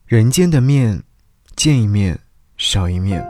人间的面，见一面少一面。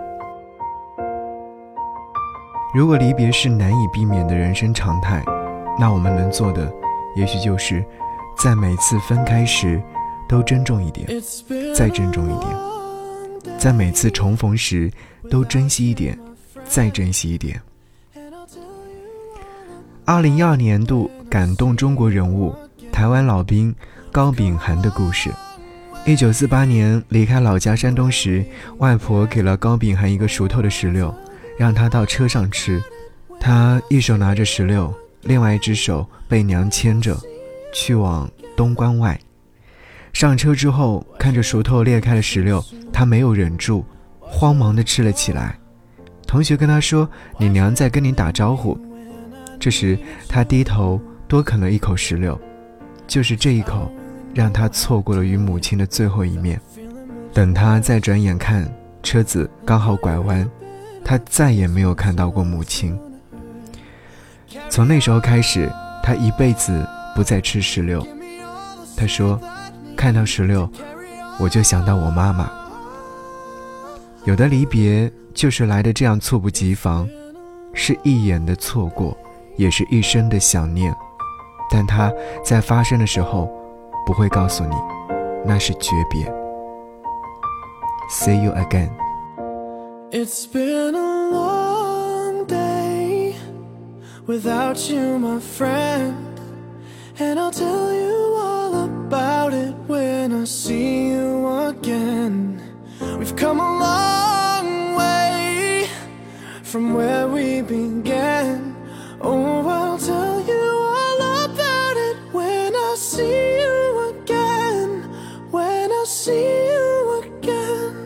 如果离别是难以避免的人生常态，那我们能做的也许就是在每次分开时都珍重一点，再珍重一点，在每次重逢时都珍惜一点，再珍惜一点。2012年度感动中国人物，台湾老兵高秉涵的故事。1948年离开老家山东时，外婆给了高秉涵一个熟透的石榴，让他到车上吃。他一手拿着石榴，另外一只手被娘牵着去往东关外。上车之后，看着熟透裂开的石榴，他没有忍住，慌忙地吃了起来。同学跟他说，你娘在跟你打招呼。这时他低头多啃了一口石榴，就是这一口让他错过了与母亲的最后一面。等他再转眼看，车子刚好拐弯，他再也没有看到过母亲。从那时候开始，他一辈子不再吃石榴。他说，看到石榴我就想到我妈妈。有的离别就是来得这样猝不及防，是一眼的错过，也是一生的想念，但它在发生的时候不会告诉你，那是诀别。 See you again. It's been a long day without you, my friend, and I'll tell you all about it when I see you again. We've come a long way from where we began. Oh, I'll tell you all about it when I see you again. When I see you again.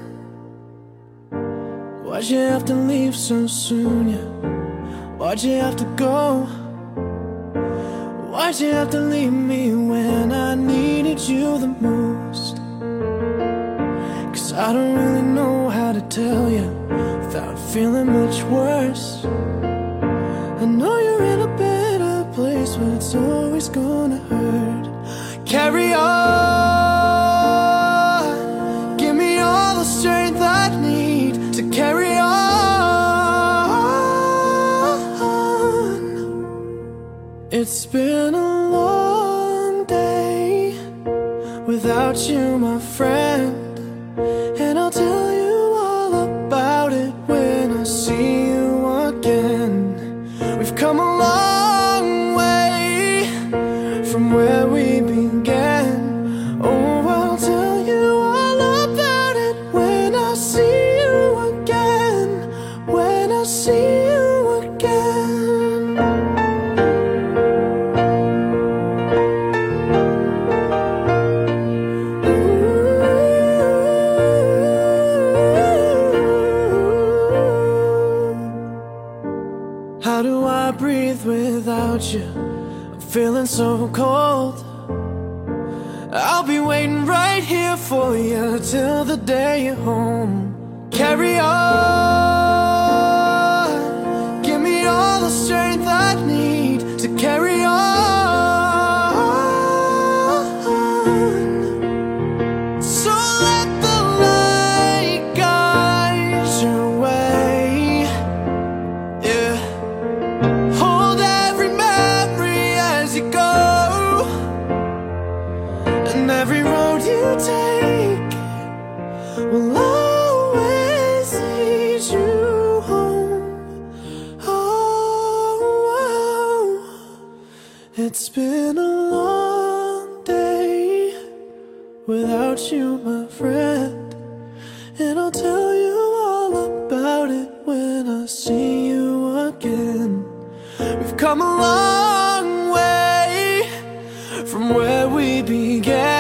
Why'd you have to leave so soon, yeah? Why'd you have to go? Why'd you have to leave me when I needed you the most? 'Cause I don't really know how to tell you without feeling much worse. I know you're in a better place, but it's always gonna hurt. Carry on, give me all the strength I need to carry on. It's been a long day without you, my friend, and I'll tell you all about it when I see you again. We've come a long way from where we began. Oh, I'll tell you all about it when I see you again. When I see you again. How do I breathe without you? I'm feeling so cold. I'll be waiting right here for you till the day you're home. Carry on, give me all the strength I need to carry on. So let the light guide your way, yeah. Hold every memory as you go, and every road you take will always lead you home. Oh, it's been a long day without you, my friend, and I'll tell you all about it when I see you again. We've come a long way from where we began.